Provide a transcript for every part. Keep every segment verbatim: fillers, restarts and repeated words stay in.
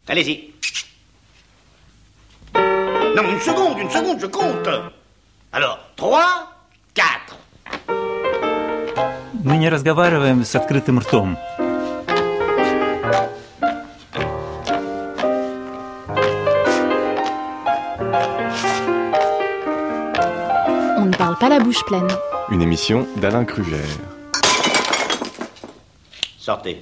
Allez-y. Non, une seconde, une seconde, je compte. Alors, trois, quatre. Мы не разговариваем с открытым ртом. On ne parle pas la bouche pleine. Une émission d'Alain Kruger. Sortez.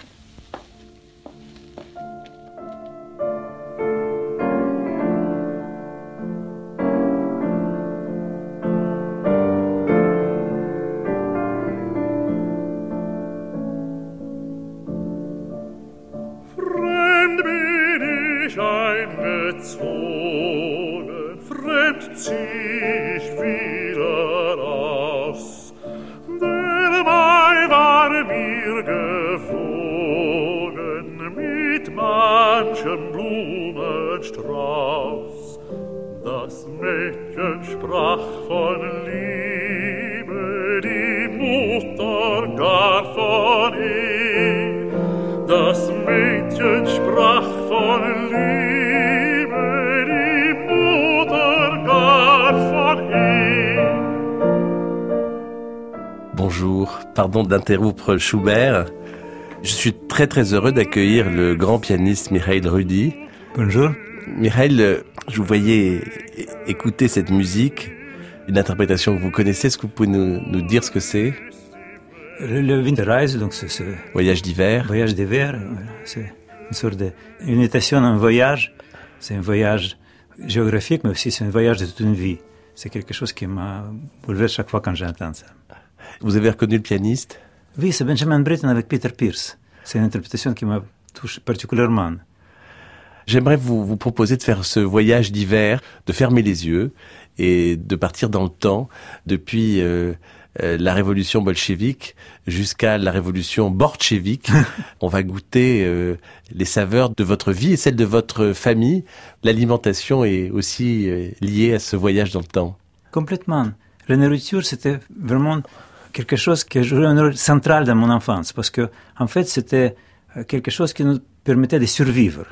Das Mädchen sprach von Liebe, die Mutter gar von Ehe. Das Mädchen sprach von Liebe, die Mutter gar von Ehe. Bonjour, pardon d'interrompre Schubert. Je suis très très heureux d'accueillir le grand pianiste Mikhail Rudi. Bonjour. Mikhail, je vous voyais écouter cette musique, une interprétation que vous connaissez. Est-ce que vous pouvez nous, nous dire ce que c'est ? Le, le Winterreise, donc c'est, c'est voyage d'hiver. Voyage d'hiver, c'est une sorte de une imitation d'un voyage. C'est un voyage géographique, mais aussi c'est un voyage de toute une vie. C'est quelque chose qui m'a bouleversé chaque fois quand j'entends ça. Vous avez reconnu le pianiste ? Oui, c'est Benjamin Britten avec Peter Pierce. C'est une interprétation qui m'a touché particulièrement. J'aimerais vous, vous proposer de faire ce voyage d'hiver, de fermer les yeux et de partir dans le temps depuis euh, euh, la révolution bolchevique jusqu'à la révolution borchevique. On va goûter euh, les saveurs de votre vie et celles de votre famille. L'alimentation est aussi euh, liée à ce voyage dans le temps. Complètement. La nourriture, c'était vraiment quelque chose qui a joué un rôle central dans mon enfance parce que, en fait, c'était quelque chose qui nous permettait de survivre.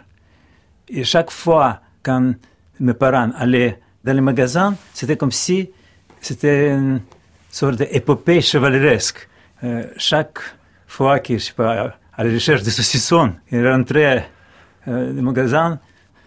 Et chaque fois, quand mes parents allaient dans les magasins, c'était comme si c'était une sorte d'épopée chevaleresque. Euh, chaque fois que, je sais pas, à la recherche de saucissons, ils rentraient euh, des magasins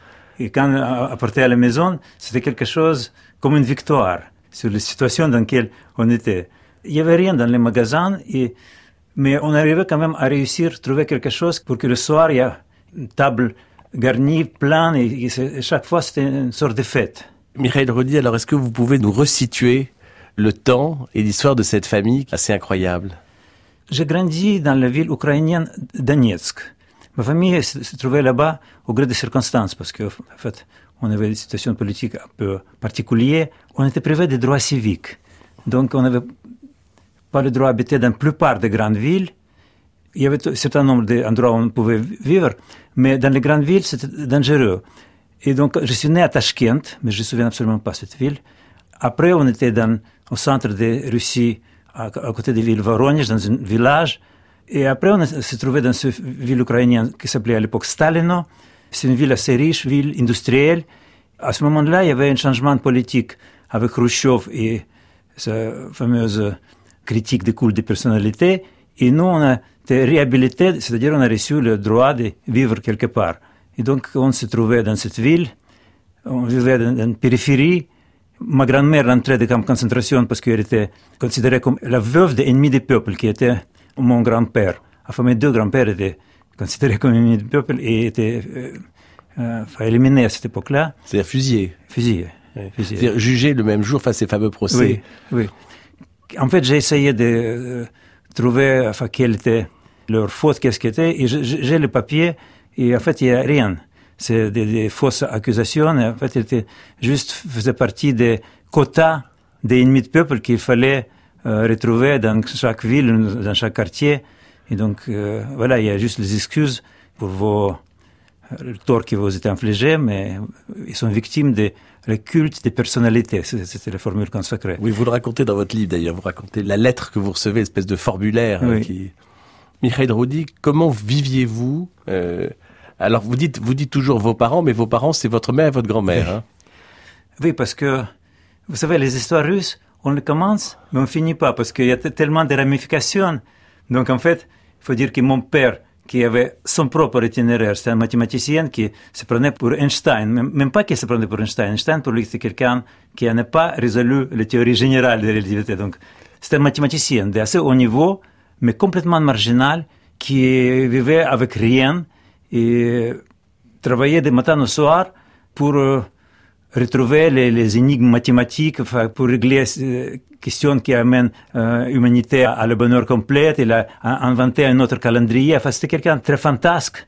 et quand apportaient à la maison, c'était quelque chose comme une victoire sur la situation dans laquelle on était. Il n'y avait rien dans les magasins, et, mais on arrivait quand même à réussir à trouver quelque chose pour que le soir, il y a une table garni, plein, et, et chaque fois c'était une sorte de fête. Mikhail Rudi, alors est-ce que vous pouvez nous resituer le temps et l'histoire de cette famille assez incroyable ? J'ai grandi dans la ville ukrainienne Donetsk. Ma famille se, se trouvait là-bas au gré des circonstances, parce qu'en fait, on avait une situation politique un peu particulière. On était privé des droits civiques. Donc on n'avait pas le droit d'habiter dans la plupart des grandes villes. Il y avait un certain nombre d'endroits où on pouvait vivre, mais dans les grandes villes, c'était dangereux. Et donc, je suis né à Tashkent, mais je ne me souviens absolument pas de cette ville. Après, on était dans, au centre de Russie, à, à côté de la ville Voronezh, dans un village. Et après, on s'est trouvé dans cette ville ukrainienne qui s'appelait à l'époque Stalino. C'est une ville assez riche, ville industrielle. À ce moment-là, il y avait un changement politique avec Khrouchtchev et sa fameuse critique des cultes de personnalité. Et nous, on a été réhabilités, c'est-à-dire on a reçu le droit de vivre quelque part. Et donc, on se trouvait dans cette ville, on vivait dans une périphérie. Ma grand-mère rentrait des camps de concentration parce qu'elle était considérée comme la veuve de l'ennemi du peuple, qui était mon grand-père. Enfin, mes deux grands-pères étaient considérés comme ennemis du peuple et étaient euh, euh, éliminés à cette époque-là. C'est-à-dire fusillés. Fusillés. Oui. Fusillés. C'est-à-dire jugés le même jour, enfin ces fameux procès. Oui, oui. En fait, j'ai essayé de euh, trouver enfin, quelle était leur faute, qu'est-ce qu'elle était, et j'ai le papier, et en fait, il n'y a rien. C'est des, des fausses accusations, et en fait, il était juste, faisait partie des quotas des ennemis de peuple qu'il fallait euh, retrouver dans chaque ville, dans chaque quartier. Et donc, euh, voilà, il y a juste les excuses pour vos, le tort qui vous est infligé, mais ils sont victimes de le culte des personnalités. C'était la formule consacrée. Oui, vous le racontez dans votre livre d'ailleurs. Vous racontez la lettre que vous recevez, l'espèce de formulaire. Oui. Hein, qui... Mikhail Rudi, comment viviez-vous euh, Alors vous dites, vous dites toujours vos parents, mais vos parents, c'est votre mère et votre grand-mère. Hein? Oui, parce que, vous savez, les histoires russes, on les commence, mais on ne finit pas, parce qu'il y a t- tellement de ramifications. Donc en fait, il faut dire que mon père, qui avait son propre itinéraire, c'était un mathématicien qui se prenait pour Einstein, même, même pas qu'il se prenait pour Einstein. Einstein, pour lui, c'est quelqu'un qui n'a pas résolu les théories générales de la relativité. Donc, c'était un mathématicien d'assez haut niveau, mais complètement marginal, qui vivait avec rien et travaillait de matin au soir pour euh, retrouver les, les énigmes mathématiques, enfin, pour régler euh, questions qui amènent euh, l'humanité à le bonheur complet. Il a inventé un autre calendrier. Enfin, c'était quelqu'un de très fantasque,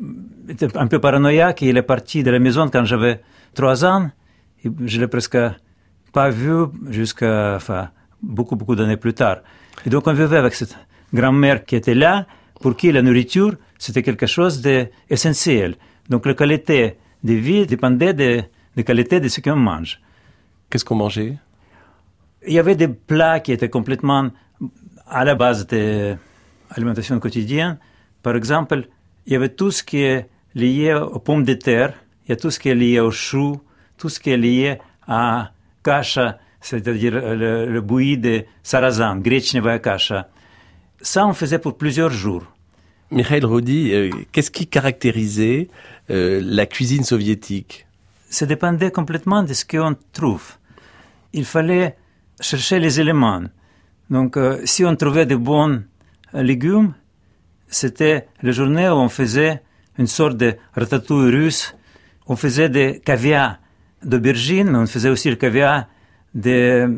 un peu paranoïaque. Il est parti de la maison quand j'avais trois ans. Et je l'ai presque pas vu jusqu'à enfin, beaucoup, beaucoup d'années plus tard. Et donc, on vivait avec cette grand-mère qui était là, pour qui la nourriture, c'était quelque chose d'essentiel. Donc, la qualité de vie dépendait de la qualité de ce qu'on mange. Qu'est-ce qu'on mangeait? Il y avait des plats qui étaient complètement à la base de l'alimentation quotidienne. Par exemple, il y avait tout ce qui est lié aux pommes de terre, il y a tout ce qui est lié aux choux, tout ce qui est lié à kasha, c'est-à-dire le, le bouilli de sarrasin, gretchnevая kasha. Ça, on faisait pour plusieurs jours. Mikhail Rudy, euh, qu'est-ce qui caractérisait euh, la cuisine soviétique? Ça dépendait complètement de ce qu'on trouve. Il fallait chercher les éléments. Donc, euh, si on trouvait de bons euh, légumes, c'était la journée où on faisait une sorte de ratatouille russe. On faisait des caviar d'aubergines, mais on faisait aussi le caviar de euh,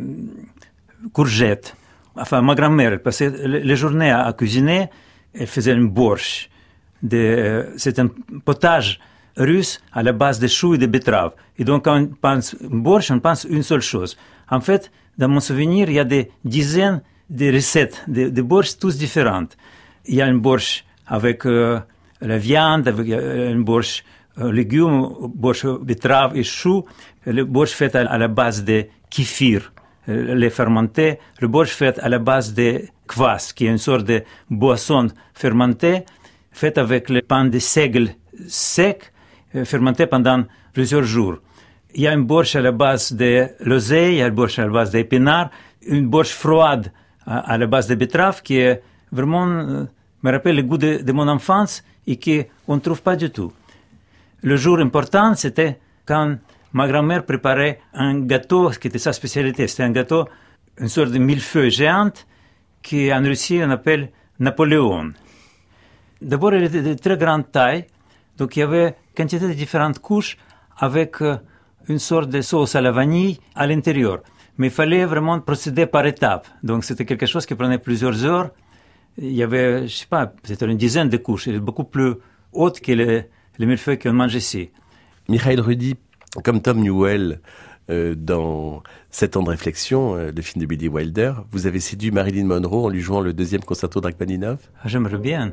courgettes. Enfin, ma grand-mère, elle passait les journées à, à cuisiner. Elle faisait un borscht. De, euh, c'est un potage russe à la base de choux et de betteraves. Et donc, quand on pense borscht, on pense une seule chose. En fait, dans mon souvenir, il y a des dizaines de recettes de, de borscht, tous différentes. Il y a un borscht avec euh, la viande, avec euh, un borscht euh, légumes, borscht betteraves et choux, le borscht fait à, à la base de kéfir, euh, lait fermenté, le borscht fait à la base de kvass, qui est une sorte de boisson fermentée, faite avec le pain de seigle sec, euh, fermenté pendant plusieurs jours. Il y a un borscht à la base de l'oseille, il y a un borscht à la base d'épinards, une borscht froide à, à la base de betterave qui est vraiment, euh, me rappelle le goût de, de mon enfance et qu'on ne trouve pas du tout. Le jour important, c'était quand ma grand-mère préparait un gâteau qui était sa spécialité. C'était un gâteau, une sorte de millefeuille géante qu'en Russie on appelle Napoléon. D'abord, il était de très grande taille, donc il y avait quantité de différentes couches avec euh, une sorte de sauce à la vanille à l'intérieur. Mais il fallait vraiment procéder par étapes. Donc c'était quelque chose qui prenait plusieurs heures. Il y avait, je sais pas, peut-être une dizaine de couches. Il est beaucoup plus haute que les, les millefeuilles qu'on mange ici. Mikhail Rudy, comme Tom Newell, euh, dans Sept ans de réflexion, euh, le film de Billy Wilder, vous avez séduit Marilyn Monroe en lui jouant le deuxième concerto de Rachmaninov? Ah, j'aimerais bien.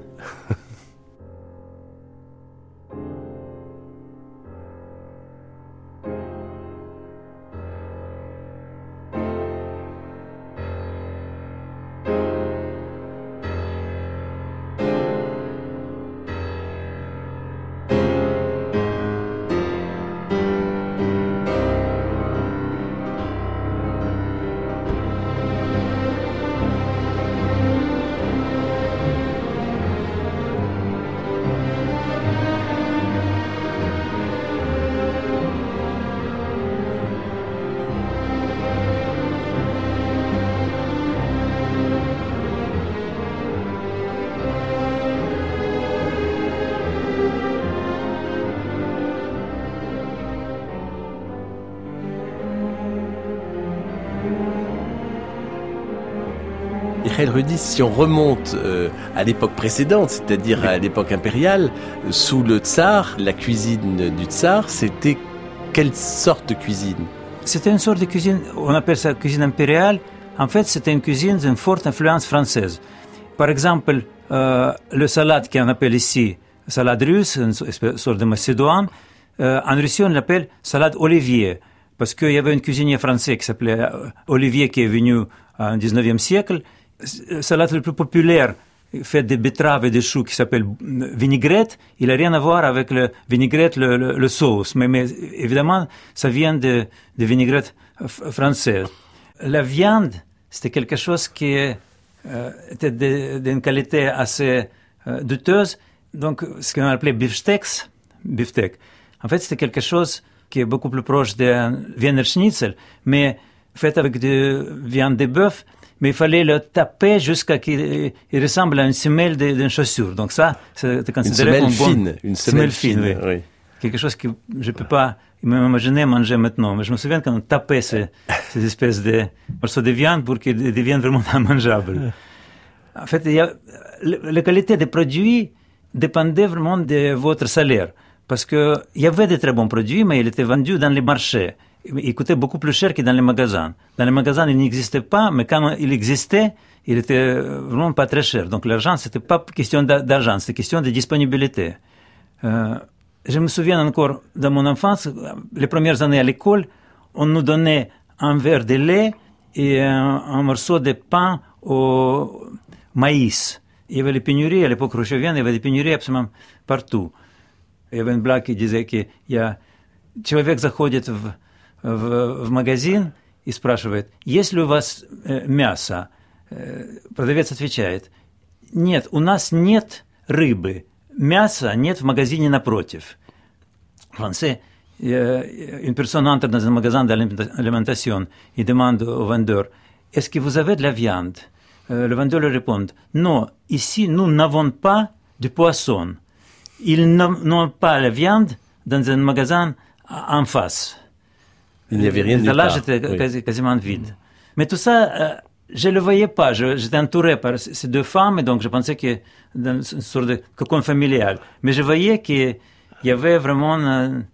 Mikhail Rudy, si on remonte euh, à l'époque précédente, c'est-à-dire à l'époque impériale, sous le tsar, la cuisine du tsar, c'était quelle sorte de cuisine? C'était une sorte de cuisine, on appelle ça cuisine impériale. En fait, c'était une cuisine d'une forte influence française. Par exemple, euh, le salade qu'on appelle ici salade russe, une sorte de macédoine, euh, en Russie on l'appelle salade Olivier, parce qu'il y avait un cuisinier français qui s'appelait Olivier qui est venu au dix-neuvième siècle. La salade la plus populaire fait des betteraves et des choux qui s'appelle vinaigrette, il n'a rien à voir avec le vinaigrette, le, le, le sauce. Mais, mais évidemment, ça vient de, de vinaigrette française. La viande, c'était quelque chose qui euh, était d'une qualité assez euh, douteuse. Donc, ce qu'on appelait beefsteaks, beefsteak. En fait, c'était quelque chose qui est beaucoup plus proche de Wiener Schnitzel, mais fait avec de viande de bœuf. Mais il fallait le taper jusqu'à qu'il il ressemble à une semelle d'une chaussure. Donc ça, c'est considéré comme bon. Fine, une semelle, semelle fine, fine, oui. Oui. Quelque chose que je ne peux pas m'imaginer manger maintenant. Mais je me souviens quand on tapait ces, ces espèces de morceaux de viande pour qu'ils deviennent vraiment immangeables. En fait, il y a, la qualité des produits dépendait vraiment de votre salaire. Parce qu'il y avait de très bons produits, mais ils étaient vendus dans les marchés. Il coûtait beaucoup plus cher que dans les magasins. Dans les magasins, il n'existait pas, mais quand il existait, il était vraiment pas très cher. Donc l'argent, c'était pas question d'argent, c'était question de disponibilité. Euh, je me souviens encore de mon enfance, les premières années à l'école, on nous donnait un verre de lait et un, un morceau de pain au maïs. Il y avait les pénuries, à l'époque rouchevienne, il y avait des pénuries absolument partout. Il y avait une blague qui disait qu'il y a человек заходит в В, в магазин и спрашивает, есть ли у вас э, мясо? Э, продавец отвечает, нет, у нас нет рыбы, мяса нет в магазине напротив. En français, euh, une personne entre dans un magasin d'alimentation et demande au vendeur, est-ce que vous avez de la viande? euh, Le vendeur lui répond, non, ici nous n'avons pas de poisson. Ils n'ont pas la viande dans un magasin en face. Il n'y avait rien de l'étalage était oui. quasi, quasiment vide. Mais tout ça, euh, je ne le voyais pas. Je, j'étais entouré par ces deux femmes, et donc je pensais que dans une sorte de cocon familial. Mais je voyais qu'il y avait vraiment une,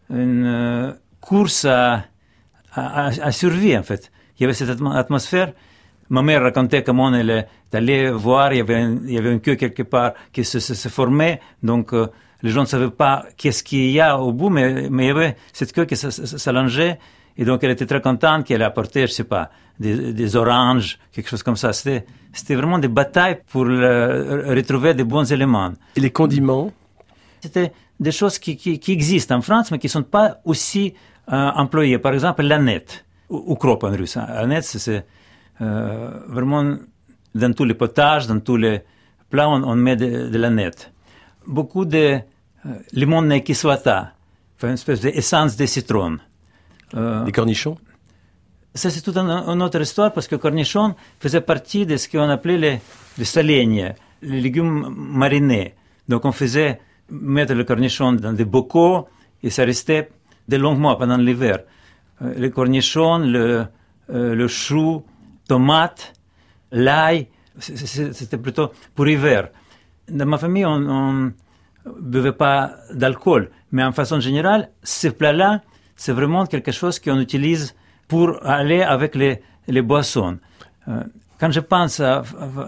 une course à, à, à survie, en fait. Il y avait cette atmosphère. Ma mère racontait comment elle est allée voir, il y avait, un, il y avait une queue quelque part qui se, se, se formait, donc euh, les gens ne savaient pas qu'est-ce qu'il y a au bout, mais, mais il y avait cette queue qui s'allongeait, et donc elle était très contente qu'elle apportait, je ne sais pas, des, des oranges, quelque chose comme ça. C'était, c'était vraiment des batailles pour le, retrouver des bons éléments. Et les condiments? C'était des choses qui, qui, qui existent en France, mais qui ne sont pas aussi euh, employées. Par exemple, l'aneth, ou ukrop en russe. L'aneth, c'est euh, vraiment dans tous les potages, dans tous les plats, on, on met de, de l'aneth. Beaucoup de euh, limonne kislota, une espèce d'essence de citron. Euh, les cornichons? Ça, c'est toute une, une autre histoire, parce que le cornichon faisait partie de ce qu'on appelait les, les salignes, les légumes marinés. Donc, on faisait mettre le cornichon dans des bocaux, et ça restait de longs mois pendant l'hiver. Euh, les cornichons, le, euh, le chou, tomate, l'ail, c'était plutôt pour l'hiver. Dans ma famille, on ne buvait pas d'alcool, mais en façon générale, ces plats-là, c'est vraiment quelque chose qu'on utilise pour aller avec les, les boissons. Euh, quand je pense à,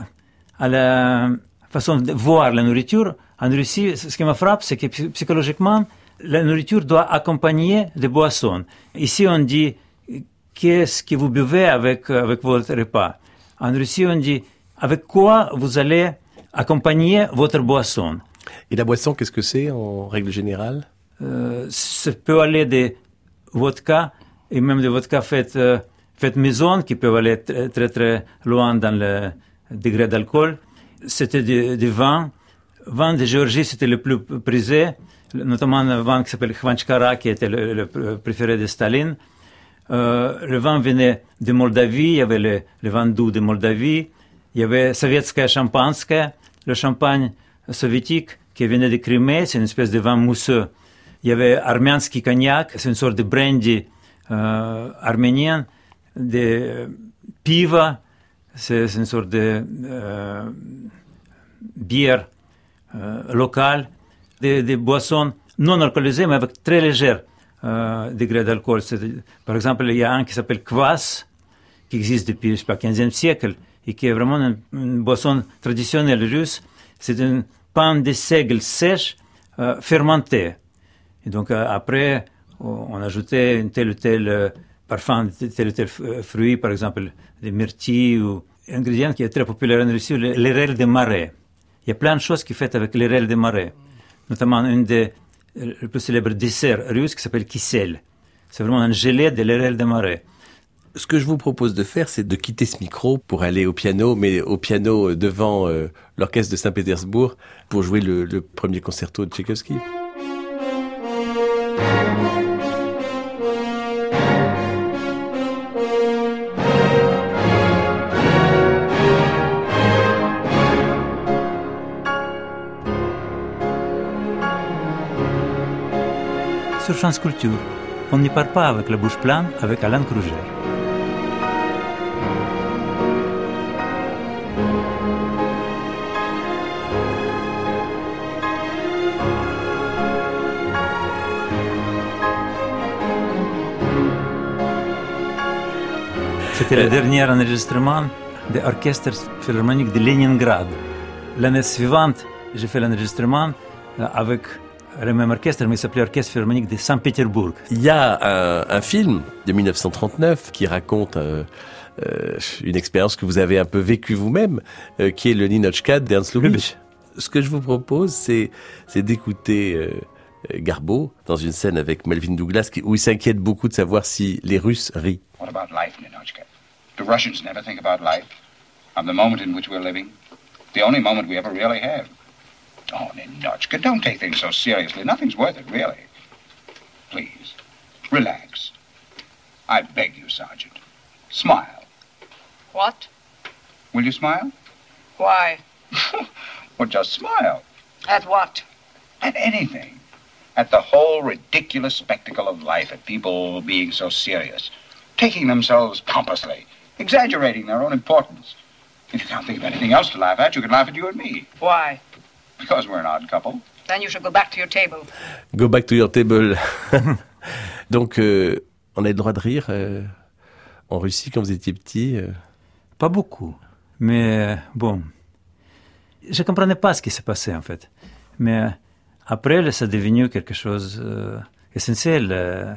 à la façon de voir la nourriture, en Russie, ce qui me frappe, c'est que psychologiquement, la nourriture doit accompagner les boissons. Ici, on dit, qu'est-ce que vous buvez avec, avec votre repas? En Russie, on dit, avec quoi vous allez accompagner votre boisson? Et la boisson, qu'est-ce que c'est en règle générale? euh, Ça peut aller des vodka, et même des vodka faites, euh, faites maison, qui peuvent aller très, très, très loin dans le degré d'alcool. C'était du, du vin. Vin de Géorgie, c'était le plus prisé, notamment un vin qui s'appelle Khvanchkara, qui était le, le préféré de Staline. Euh, le vin venait de Moldavie, il y avait le, le vin doux de Moldavie, il y avait soviétskaya champagneska, le champagne soviétique qui venait de Crimée, c'est une espèce de vin mousseux. Il y avait arménski cognac, c'est une sorte de brandy euh, arménien, de piva, c'est, c'est une sorte de euh, bière euh, locale, des, des boissons non alcoolisées, mais avec très léger euh, degré d'alcool. C'est, par exemple, il y a un qui s'appelle kvass, qui existe depuis, je sais pas, quinzième siècle, et qui est vraiment une, une boisson traditionnelle russe. C'est un pain de seigle sèche euh, fermenté. Et donc, euh, après, on ajoutait un tel ou tel euh, parfum, tel ou tel fruit, par exemple, des myrtilles, ou un ingrédient qui est très populaire en Russie, l'érel de marais. il y a plein de choses qui sont faites avec les rêles des marais. Notamment, une des le plus célèbres desserts russes qui s'appelle kissel. C'est vraiment un gelé de l'érel des marais. Ce que je vous propose de faire, c'est de quitter ce micro pour aller au piano, mais au piano devant euh, l'orchestre de Saint-Pétersbourg pour jouer le, le premier concerto de Tchaïkovski. Sur France Culture, on n'y part pas avec la bouche pleine avec Alain Kruger. C'était le dernier enregistrement de l'Orchestre Philharmonique de Leningrad. L'année suivante, j'ai fait l'enregistrement avec le même orchestre, mais il s'appelait Orchestre Philharmonique de Saint-Pétersbourg. Il y a un, un film de dix-neuf cent trente-neuf qui raconte euh, euh, une expérience que vous avez un peu vécue vous-même, euh, qui est le Ninotchka d'Ernst Lubitsch. Ce que je vous propose, c'est, c'est d'écouter euh, Garbo dans une scène avec Melvyn Douglas, qui, où il s'inquiète beaucoup de savoir si les Russes rient. What about life, Ninotchka? Do Russians never think about life? Of the moment in which we're living? The only moment we ever really have. Oh, Ninotchka, don't take things so seriously. Nothing's worth it, really. Please, relax. I beg you, Sergeant. Smile. What? Will you smile? Why? Well, just smile. At what? At anything. At the whole ridiculous spectacle of life, at people being so serious, taking themselves pompously, exaggerating their own importance. If you can't think of anything else to laugh at, you can laugh at you and me. Why? Because we're an odd couple. Then you should go back to your table. Go back to your table. Donc, euh, on a le droit de rire euh, en Russie quand vous étiez petit euh... Pas beaucoup. Mais bon, je ne comprenais pas ce qui s'est passé en fait. Mais après, ça est devenu quelque chose d'essentiel, euh,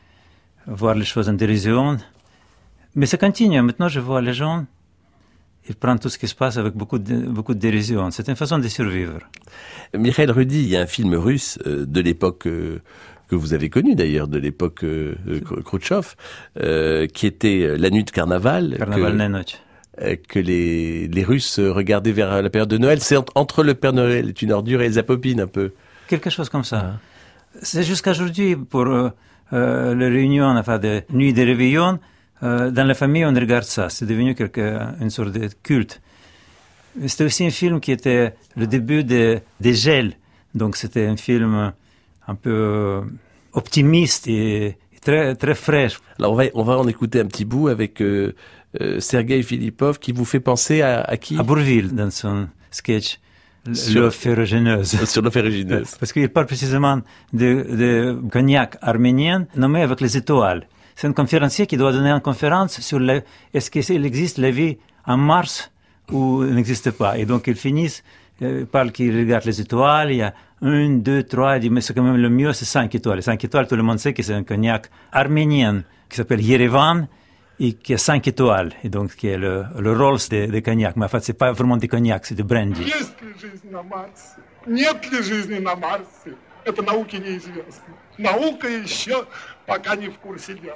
voir les choses en dérision. Mais ça continue. Maintenant, je vois les gens, ils prennent tout ce qui se passe avec beaucoup de, beaucoup de dérision. C'est une façon de survivre. Mikhail Rudy, il y a un film russe euh, de l'époque euh, que vous avez connu d'ailleurs, de l'époque euh, Khrouchtchev, euh, qui était La Nuit de Carnaval. Carnaval Nenoch. Euh, que les, les Russes regardaient vers la période de Noël. C'est entre le Père Noël est une ordure et Elsa Popine un peu. Quelque chose comme ça. Ah. C'est jusqu'à aujourd'hui pour euh, euh, les réunions, enfin des nuits de réveillon. Euh, dans la famille, on regarde ça. C'est devenu quelque, une sorte de culte. C'était aussi un film qui était le début des de gels. Donc c'était un film un peu optimiste et, et très, très fraîche. Alors on va, on va en écouter un petit bout avec euh, euh, Sergei Filippov qui vous fait penser à, à qui? À Bourvil, dans son sketch. L'eau ferrugineuse. Sur l'eau ferrugineuse. Parce qu'il parle précisément de, de cognac arménien nommé avec les étoiles. C'est un conférencier qui doit donner une conférence sur le, est-ce qu'il existe la vie en Mars ou il n'existe pas. Et donc ils finissent, euh, parlent qu'ils regardent les étoiles, il y a une, deux, trois, il dit mais c'est quand même le mieux, c'est cinq étoiles. Les cinq étoiles, tout le monde sait que c'est un cognac arménien qui s'appelle Yerevan et qui a cinq étoiles. Et donc qui est le, le Rolls de, de cognac. Mais en fait, c'est pas vraiment du cognac, c'est du brandy. Есть ли жизнь на Марсе? Нет ли жизни на Марсе? Это науке неизвестно. Наука еще пока не в курсе дела.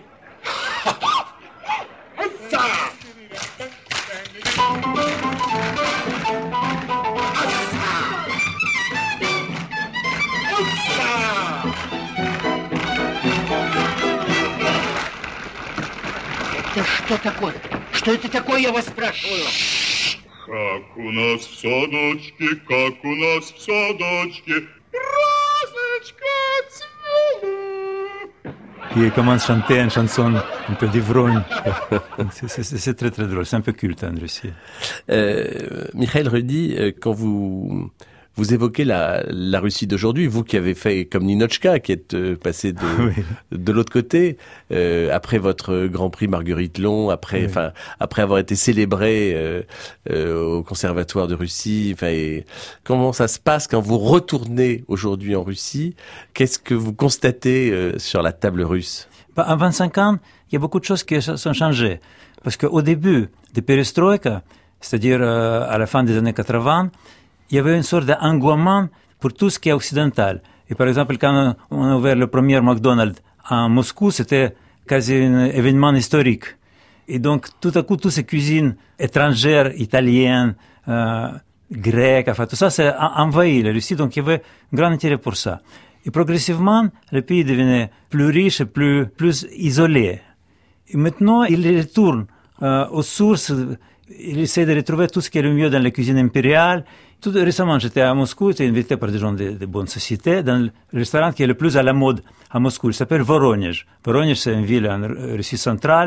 Это что такое? Что это такое, я вас спрашиваю? Как у нас в садочке, как у нас в садочке, розочка цвела. Il commence à chanter une chanson un peu d'ivrogne. c'est, c'est, c'est très très drôle, c'est un peu culte en Russie. Euh, Mikhail Rudy, quand vous vous évoquez la, la Russie d'aujourd'hui, vous qui avez fait comme Ninotchka, qui êtes euh, passé de, oui. de l'autre côté, euh, après votre Grand Prix Marguerite Long, après, enfin, oui. après avoir été célébré euh, euh, au Conservatoire de Russie, enfin, et comment ça se passe quand vous retournez aujourd'hui en Russie? Qu'est-ce que vous constatez euh, sur la table russe? Bah, en vingt-cinq ans, il y a beaucoup de choses qui sont changées. Parce qu'au début de Perestroïka, c'est-à-dire euh, à la fin des années quatre-vingts, il y avait une sorte d'engouement pour tout ce qui est occidental. Et par exemple, quand on a ouvert le premier McDonald's à Moscou, c'était quasi un événement historique. Et donc, tout à coup, toutes ces cuisines étrangères, italiennes, euh, grecques, enfin, tout ça, c'est envahi la Russie. Donc, il y avait un grand intérêt pour ça. Et progressivement, le pays devenait plus riche et plus, plus isolé. Et maintenant, il retourne euh, aux sources. Il essaie de retrouver tout ce qui est le mieux dans la cuisine impériale. Tout récemment, j'étais à Moscou, j'étais invité par des gens de, de bonne société dans le restaurant qui est le plus à la mode à Moscou. Il s'appelle Voronezh. Voronezh, c'est une ville en Russie centrale.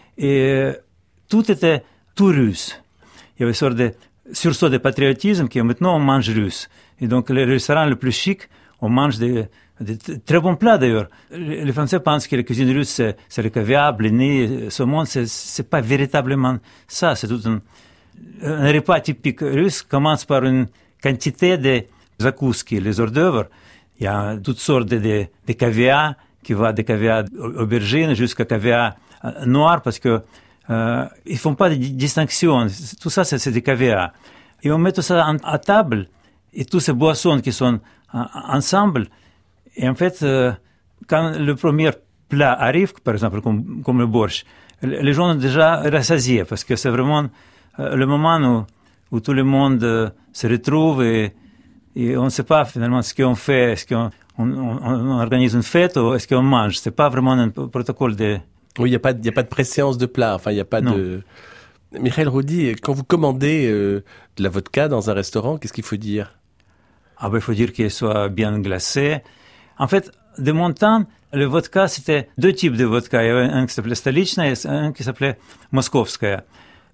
Et tout était tout russe. Il y avait une sorte de sursaut de patriotisme qui maintenant on mange russe. Et donc, le restaurant le plus chic, on mange des, des très bons plats d'ailleurs. Les Français pensent que la cuisine russe, c'est, c'est le caviar, blini, saumon. C'est, c'est pas véritablement ça. C'est tout un, un repas typique russe commence par une quantité de zakouski, les hors d'œuvre. Il y a toutes sortes de, de, de caviar qui va de caviar aubergine jusqu'à caviar noir parce que euh, ils font pas de distinction. Tout ça, c'est, c'est des caviar. Et on met tout ça en, à table et toutes ces boissons qui sont en, ensemble. Et en fait, euh, quand le premier plat arrive, par exemple, comme, comme le borscht, les gens sont déjà rassasiés parce que c'est vraiment euh, le moment où, où tout le monde euh, se retrouve et, et on ne sait pas finalement ce qu'on fait. Est-ce qu'on on, on, on organise une fête ou est-ce qu'on mange? C'est pas vraiment un protocole de... Oui, il n'y a pas, il y a pas de préséance de plat. Enfin, il n'y a pas non. de... Mikhail Roudy, quand vous commandez euh, de la vodka dans un restaurant, qu'est-ce qu'il faut dire? Ah ben, il faut dire qu'elle soit bien glacée. En fait, de mon temps, le vodka, c'était deux types de vodka. Il y avait un qui s'appelait Stolichna et un qui s'appelait Moskovskaya.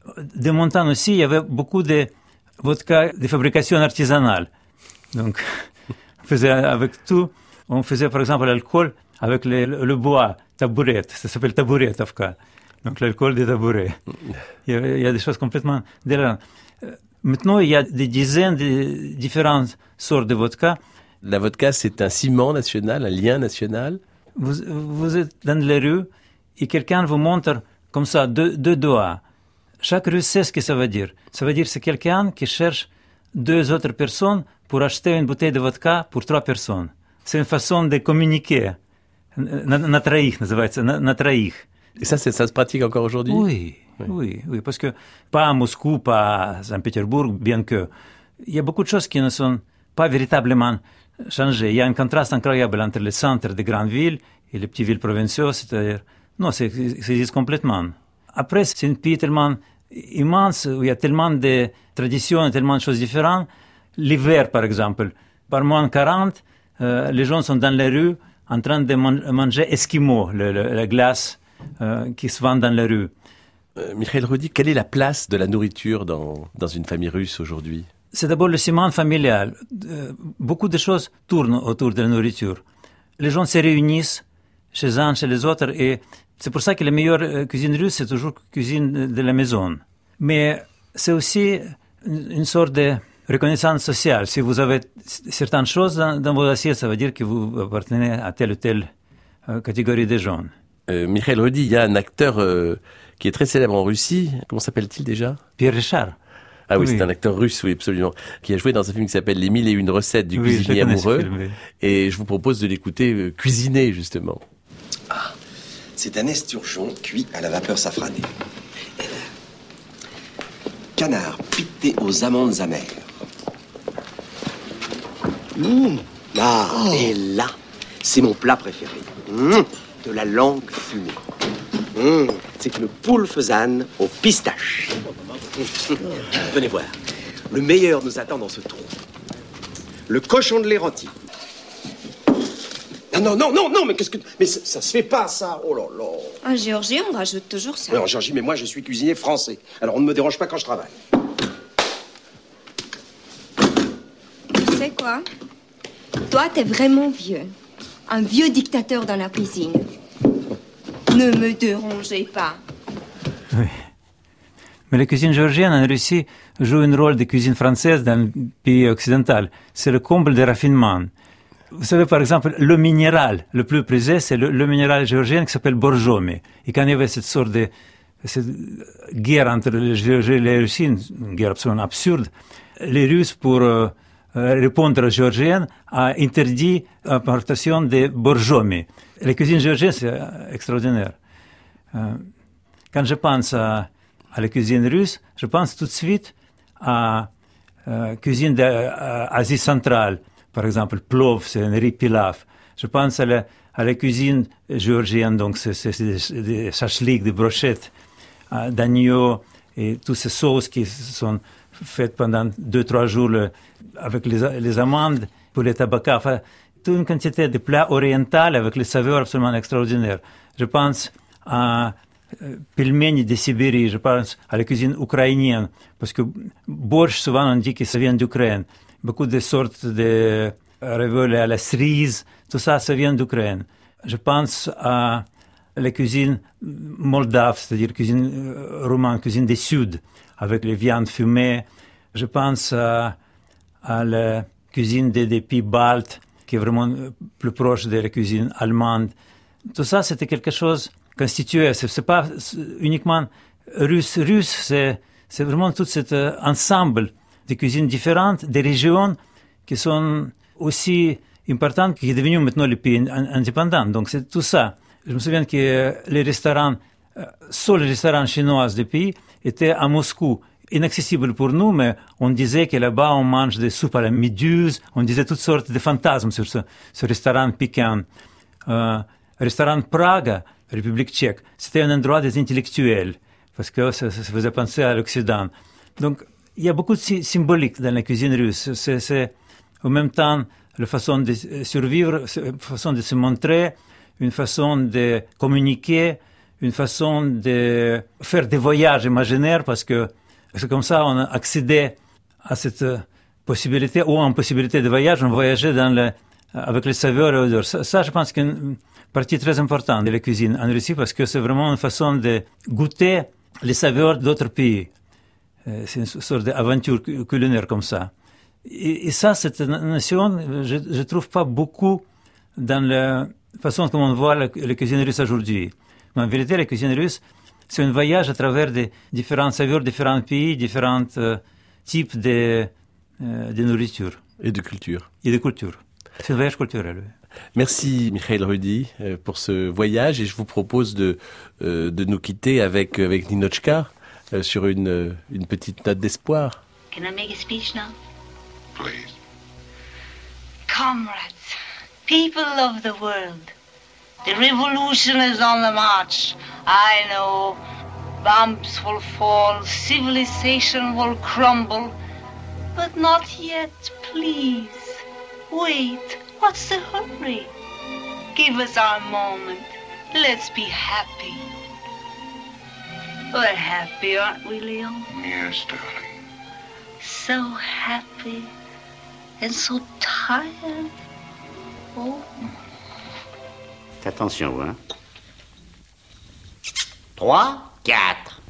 De mon temps aussi, il y avait beaucoup de vodka de fabrication artisanale. Donc, on faisait avec tout. On faisait, par exemple, l'alcool avec le, le bois, tabouret. Ça s'appelle tabouretovka. Donc, l'alcool des tabourets. Il y a, il y a des choses complètement délirantes. Maintenant, il y a des dizaines de différentes sortes de vodka. La vodka, c'est un ciment national, un lien national. Vous, vous êtes dans les rues et quelqu'un vous montre comme ça deux, deux doigts. Chaque rue sait ce que ça veut dire. Ça veut dire que c'est quelqu'un qui cherche deux autres personnes pour acheter une bouteille de vodka pour trois personnes. C'est une façon de communiquer. Na, na троих, называется, na, na троих. Et ça, c'est, ça se pratique encore aujourd'hui? Oui, oui, oui, oui, parce que pas à Moscou, pas à Saint-Pétersbourg, bien que il y a beaucoup de choses qui ne sont pas véritablement changées. Il y a un contraste incroyable entre les centres des grandes villes et les petites villes provinciales, c'est-à-dire, non, c'est, ça existe complètement. Après, c'est un pays tellement immense où il y a tellement de traditions, tellement de choses différentes. L'hiver, par exemple, par moins quarante, euh, les gens sont dans les rues en train de man- manger esquimaux, le, le, la glace euh, qui se vend dans les rues. Euh, Mikhail Roudy, quelle est la place de la nourriture dans, dans une famille russe aujourd'hui? C'est d'abord le ciment familial. Euh, beaucoup de choses tournent autour de la nourriture. Les gens se réunissent chez un, chez les autres, et c'est pour ça que la meilleure euh, cuisine russe, c'est toujours cuisine de, de la maison. Mais c'est aussi une, une sorte de reconnaissance sociale. Si vous avez certaines choses dans, dans vos assiettes, ça veut dire que vous appartenez à telle ou telle euh, catégorie de gens. Euh, Mikhail Roudy, il y a un acteur euh, qui est très célèbre en Russie. Comment s'appelle-t-il déjà? Pierre Richard. Ah oui, oui, c'est un acteur russe, oui, absolument, qui a joué dans un film qui s'appelle Les mille et une recettes du oui, cuisinier amoureux. Film, oui. Et je vous propose de l'écouter euh, cuisiner, justement. Ah, c'est un esturgeon cuit à la vapeur safranée. Canard piqué aux amandes amères. Mmh. Ah, oh. Et là, c'est mon plat préféré. Mmh. De la langue fumée. Mmh. C'est une poule faisane aux pistaches. Venez voir. Le meilleur nous attend dans ce trou. Le cochon de l'Héranti. Non, non, non, non, non, mais qu'est-ce que... Mais ça, ça se fait pas, ça. Oh là là. En Géorgie, on rajoute toujours ça. Oui, en Géorgie, mais moi, je suis cuisinier français. Alors, on ne me dérange pas quand je travaille. Tu sais quoi? Toi, t'es vraiment vieux. Un vieux dictateur dans la cuisine. Ne me dérangez pas. Oui. Mais la cuisine géorgienne en Russie joue un rôle de cuisine française dans le pays occidental. C'est le comble de raffinement. Vous savez, par exemple, le minéral le plus prisé, c'est le, le minéral géorgien qui s'appelle borjomi. Et quand il y avait cette sorte de cette guerre entre les Géorgiens et les Russiens, une guerre absolument absurde, les Russes, pour euh, répondre aux Géorgiens, a interdit l'importation de borjomi. La cuisine géorgienne, c'est extraordinaire. Euh, quand je pense à, à la cuisine russe, je pense tout de suite à la euh, cuisine d'Asie centrale. Par exemple, plov, c'est un riz pilaf. Je pense à la, à la cuisine géorgienne, donc c'est, c'est, c'est des, des chachliks, des brochettes euh, d'agneau et toutes ces sauces qui sont faites pendant deux, trois jours le, avec les, les amandes pour les tabacs. Enfin, toute une quantité de plats orientaux avec les saveurs absolument extraordinaires. Je pense à euh, pelmeni de Sibérie, je pense à la cuisine ukrainienne, parce que borsch, souvent on dit que ça vient d'Ukraine. Beaucoup de sortes de raviolis à la cerise, tout ça, ça vient d'Ukraine. Je pense à la cuisine moldave, c'est-à-dire cuisine roumaine, cuisine du Sud, avec les viandes fumées. Je pense à, à la cuisine des, des pays baltes, qui est vraiment plus proche de la cuisine allemande. Tout ça, c'était quelque chose constitué. C'est, c'est pas uniquement russe. Russe, c'est, c'est vraiment tout cet ensemble de cuisines différentes, des régions qui sont aussi importantes, qui sont devenues maintenant les pays indépendants. Donc c'est tout ça. Je me souviens que les restaurants, seuls les restaurants chinois du pays étaient à Moscou, inaccessibles pour nous, mais on disait que là-bas on mange des soupes à la méduse, on disait toutes sortes de fantasmes sur ce, ce restaurant piquant. Euh, restaurant Prague, République tchèque, c'était un endroit des intellectuels, parce que ça, ça faisait penser à l'Occident. Donc il y a beaucoup de symbolique dans la cuisine russe. C'est, c'est en même temps la façon de survivre, une façon de se montrer, une façon de communiquer, une façon de faire des voyages imaginaires, parce que c'est comme ça on a accédé à cette possibilité, ou en possibilité de voyage, on voyageait dans le, avec les saveurs et odeurs. Ça, ça, je pense, c'est une partie très importante de la cuisine en Russie, parce que c'est vraiment une façon de goûter les saveurs d'autres pays. C'est une sorte d'aventure culinaire comme ça. Et, et ça, cette notion, je ne trouve pas beaucoup dans la façon dont on voit la, la cuisine russe aujourd'hui. Mais en vérité, la cuisine russe, c'est un voyage à travers des différentes saveurs, différents pays, différents euh, types de, euh, de nourriture. Et de culture. Et de culture. C'est un voyage culturel. Merci Mikhail Rudy pour ce voyage, et je vous propose de, euh, de nous quitter avec, avec Ninotchka euh, sur une, une petite note d'espoir. Can I make a speech now? Please. Comrades, people of the world, the revolution is on the march. I know bombs will fall, civilization will crumble, but not yet, please. Wait, what's the hurry? Give us our moment. Let's be happy. We're happy, aren't we, Leon? Yes, darling. So happy and so tired. Oh. Attention, vous, hein. Trois, quatre.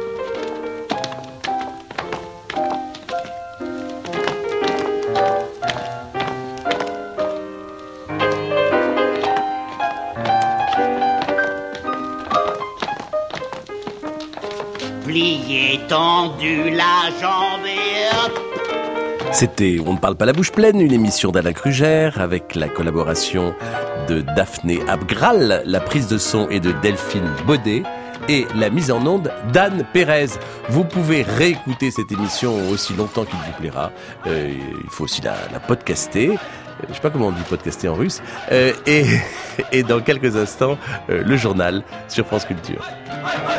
Plié, tendu, la jambe et hop. C'était On ne parle pas la bouche pleine, une émission d'Alain Krugère avec la collaboration de Daphné Abgral, la prise de son est de Delphine Baudet et la mise en onde d'Anne Pérez. Vous pouvez réécouter cette émission aussi longtemps qu'il vous plaira. Euh, il faut aussi la, la podcaster. Je ne sais pas comment on dit podcaster en russe. Euh, et, et dans quelques instants, euh, le journal sur France Culture.